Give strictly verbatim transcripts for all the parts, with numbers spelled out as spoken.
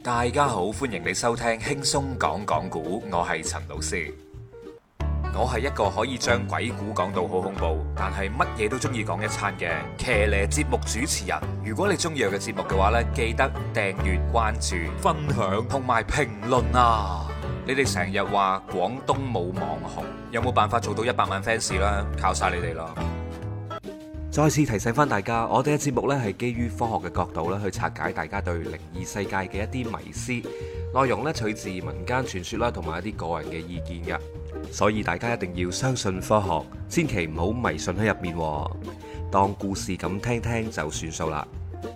大家好，歡迎你收聽輕鬆講講古，我係陳老師。我係一個可以將鬼故講到好恐怖，但係乜嘢都中意講一餐嘅騎呢節目主持人。如果你中意我嘅節目嘅話呢，記得訂閱、關注、分享同埋評論啊！你哋成日話廣東冇網紅，有冇辦法做到一百萬 fans 啦？靠晒你哋啦！再次提醒翻大家，我哋嘅節目呢係基於科學嘅角度咧去拆解大家對靈異世界嘅一啲迷思，內容呢取自民間傳說啦，同埋一啲個人嘅意見嘅，所以大家一定要相信科學，千祈唔好迷信喺入面，當故事咁聽聽就算數啦。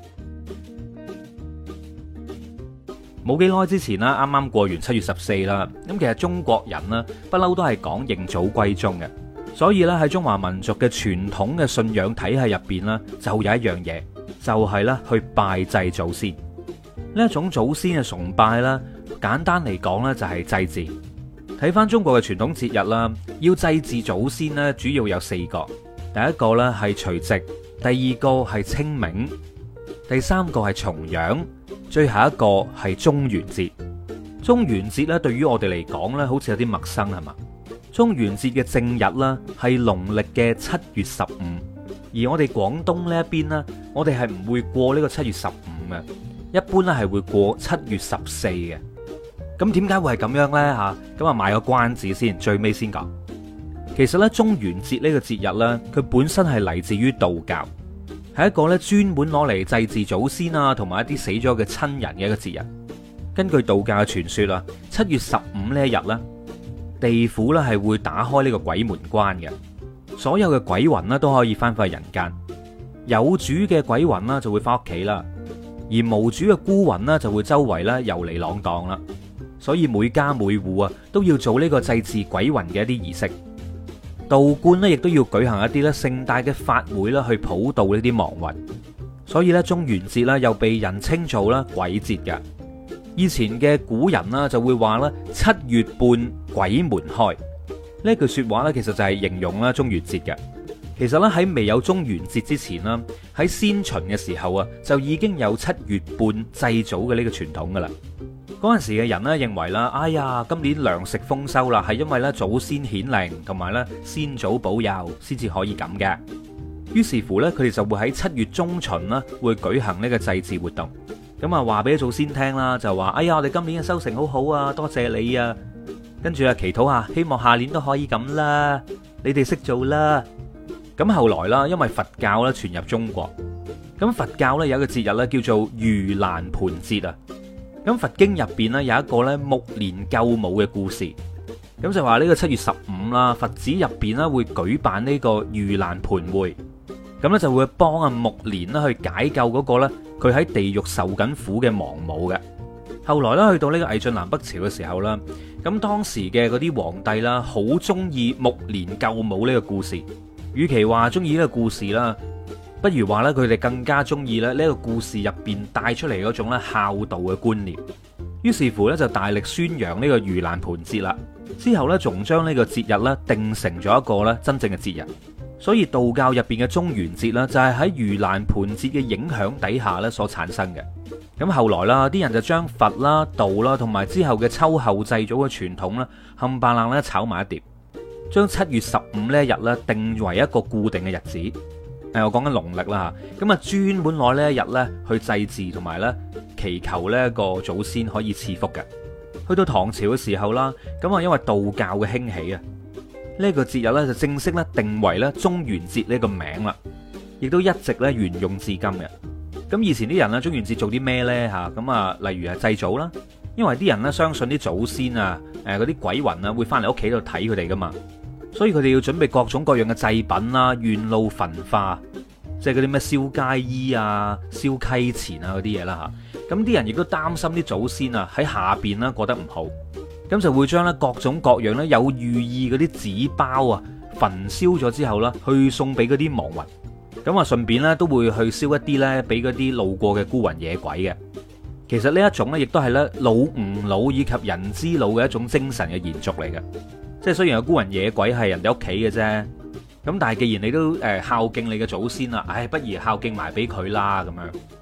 冇幾耐之前啦，啱啱過完七月十四啦，咁其實中國人呢不嬲都係講認祖歸宗嘅。所以咧喺中華民族嘅傳統嘅信仰體系入邊呢，就有一樣嘢，就係咧去拜祭祖先。呢一種祖先嘅崇拜啦，簡單嚟講呢就係祭祀。睇翻中國嘅傳統節日啦，要祭祀祖先呢，主要有四個。第一個呢係除夕，第二個係清明，第三個係重陽，最後一個係中元節。中元節呢，對於我哋嚟講呢，好似有啲陌生係嘛？中元節嘅正日啦，係農曆嘅七月十五，而我哋廣東呢一邊呢，我哋係唔會過呢個七月十五嘅，一般咧係會過七月十四嘅。咁點解會係咁樣呢？吓，咁啊賣個關子先，最尾先講。其實咧，中元節呢個節日咧，佢本身係嚟自於道教，係一個咧專門攞嚟祭祀祖先啊，同埋一啲死咗嘅親人嘅一個節日。根據道教嘅傳說啊，七月十五呢一日咧，地府咧係會打開呢個鬼門關嘅，所有嘅鬼魂咧都可以翻返去人間，有主嘅鬼魂啦就會翻屋企啦，而無主嘅孤魂呢就會周圍咧遊離浪蕩啦。所以每家每戶啊都要做呢個祭祀鬼魂嘅一啲儀式，道觀呢亦都要舉行一啲咧盛大嘅法會啦去普渡呢啲亡魂。所以咧中元節咧又被人稱做啦鬼節嘅。以前嘅古人啦就會話咧七月半鬼門開，呢句說話咧其實就係形容啦中元節嘅。其實咧喺未有中元節之前啦，喺先秦嘅時候啊就已經有七月半祭祖嘅呢個傳統噶啦。嗰陣時嘅人咧認為啦，哎呀今年糧食豐收啦，係因為咧祖先顯靈同埋咧先祖保佑先至可以咁嘅。於是乎咧佢哋就會喺七月中旬啦會舉行呢個祭祀活動。咁啊，話俾祖先聽啦，就話：哎呀，我哋今年嘅收成好好啊，多謝你啊！跟住啊，祈禱下，希望下年都可以咁啦。你哋識做啦。咁後來啦，因為佛教咧傳入中國，咁佛教咧有一個節日咧叫做盂蘭盆節啊。咁佛經入邊咧有一個咧目連救母嘅故事，咁就話呢個七月十五啦，佛寺入邊咧會舉辦呢個盂蘭盆會，咁咧就會幫阿目連啦去解救嗰個咧。佢喺地獄受緊苦嘅亡母嘅。後來咧去到呢個魏晉南北朝嘅時候啦，咁當時嘅嗰啲皇帝啦，好中意目連救母呢個故事。與其話中意呢個故事啦，不如話咧佢哋更加中意咧呢個故事入邊帶出嚟嗰種咧孝道嘅觀念。於是乎咧就大力宣揚呢個盂蘭盆節啦。之後咧仲將呢個節日咧定成咗一個咧真正嘅節日。所以道教入邊嘅中元節啦，就係喺盂蘭盆節嘅影響底下咧所產生嘅。咁後來啦，啲人就將佛啦、道啦，同埋之後嘅秋後祭祖嘅傳統咧，冚唪唥咧炒埋一碟，將七月十五呢一日咧定為一個固定嘅日子。誒，我講緊農曆啦吓，咁啊專門攞呢一日咧去祭祀同埋咧祈求呢一個祖先可以賜福嘅。去到唐朝嘅時候啦，咁啊因為道教嘅興起啊。呢個節日咧就正式咧定為咧中元節呢個名啦，亦都一直咧沿用至今嘅。咁以前啲人咧中元節做啲咩呢？吓？咁啊，例如係祭祖啦，因為啲人咧相信啲祖先啊，誒嗰啲鬼魂啊會翻嚟屋企度睇佢哋噶嘛，所以佢哋要準備各種各樣嘅祭品啦，願怒焚化，即係嗰啲咩燒街衣啊、燒溪錢啊嗰啲嘢啦吓。咁啲人亦都擔心啲祖先啊喺下邊啦過得唔好。咁就會將咧各種各樣咧有寓意嗰啲紙包啊焚燒咗之後啦，去送俾嗰啲亡魂。咁啊，順便咧都會去燒一啲咧俾嗰啲路過嘅孤魂野鬼嘅。其實呢一種咧，亦都係咧老吾老以及人之老嘅一種精神嘅延續嚟嘅。即係雖然有孤魂野鬼係人哋屋企嘅啫，咁但係既然你都誒孝敬你嘅祖先啦，唉，不如孝敬埋俾佢啦咁樣。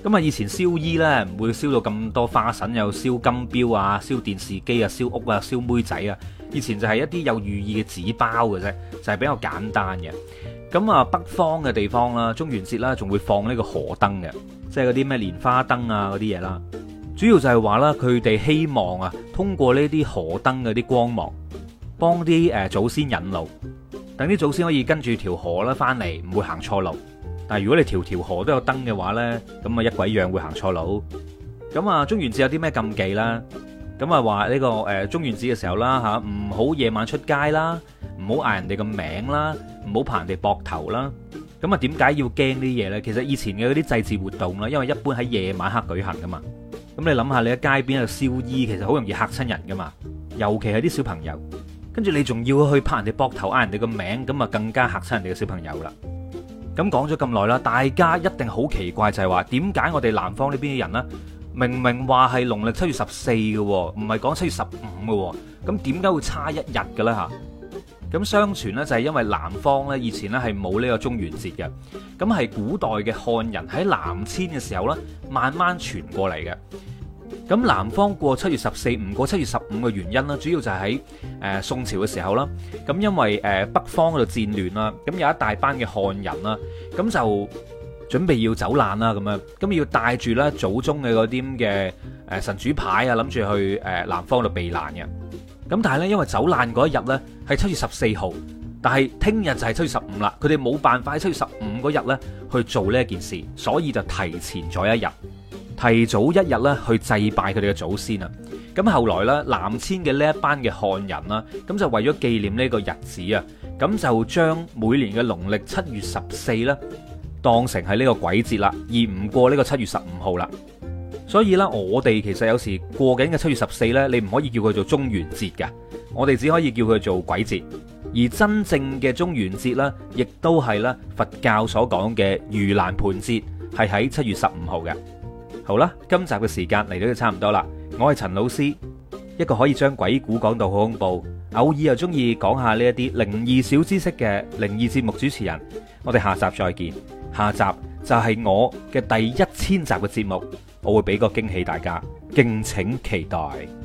咁啊，以前燒衣呢，唔會燒到咁多花神，有燒金標啊、燒電視機啊、燒屋啊、燒妹仔啊。以前就係一啲有寓意嘅紙包嘅啫，就係比較簡單嘅。咁啊，北方嘅地方啦，中元節啦，仲會放呢個河燈嘅，即係嗰啲咩蓮花燈啊嗰啲嘢啦。主要就係話啦，佢哋希望啊，通過呢啲河燈嗰啲光芒，幫啲誒祖先引路，等啲祖先可以跟住條河啦翻嚟，唔會行錯路。但係如果你條條河都有燈嘅話呢，咁啊一鬼樣會行錯路。咁啊，中元節有啲咩禁忌啦？咁啊話呢個誒中元節嘅時候啦嚇，唔好夜晚出街啦，唔好嗌人哋個名啦，唔好拍人哋膊頭啦。咁啊點解要驚呢啲嘢呢？其實以前嘅嗰啲祭祀活動啦，因為一般喺夜晚黑舉行噶嘛。咁你諗下，你喺街邊喺度燒衣，其實好容易嚇親人噶嘛。尤其係啲小朋友，跟住你仲要去拍人哋膊頭嗌人哋個名，咁啊更加嚇親人哋嘅小朋友啦。咁講咗咁耐啦，大家一定好奇怪，就係話點解我哋南方呢邊嘅人呢，明明話係農曆七月十四嘅，唔係講七月十五嘅，咁點解會差一日嘅咧吓？咁相傳呢，就係因為南方呢以前呢係冇呢個中元節嘅，咁係古代嘅漢人喺南遷嘅時候呢慢慢傳過嚟嘅。咁南方過七月十四唔過七月十五嘅原因呢，主要就係喺誒宋朝嘅時候啦。咁因為誒北方嗰度戰亂啦，咁有一大班嘅漢人啦，咁就準備要走難啦，咁樣咁要帶住咧祖宗嘅嗰啲咁嘅誒神主牌啊，諗住去誒南方度避難嘅。咁但係咧，因為走難嗰一日咧係七月十四號，但係聽日就係七月十五啦，佢哋冇辦法喺七月十五嗰日咧去做呢一件事，所以就提前咗一日。提早一日咧去祭拜佢哋嘅祖先啊！咁後來咧南遷嘅呢一班嘅漢人啦，咁就為咗紀念呢個日子啊，咁就將每年嘅農曆七月十四咧當成係呢個鬼節啦，而唔過呢個七月十五號啦。所以咧，我哋其實有時過緊嘅七月十四咧，你唔可以叫佢做中元節㗎，我哋只可以叫佢做鬼節。而真正嘅中元節咧，亦都係咧佛教所講嘅盂蘭盆節，係喺七月十五號嘅。好啦，今集嘅時間嚟到就差唔多啦。我係陳老師，一個可以將鬼故講到好恐怖，偶爾又中意講下呢一啲靈異小知識嘅靈異節目主持人。我哋下集再見，下集就係我嘅第一千集嘅節目，我會俾個驚喜大家，敬請期待。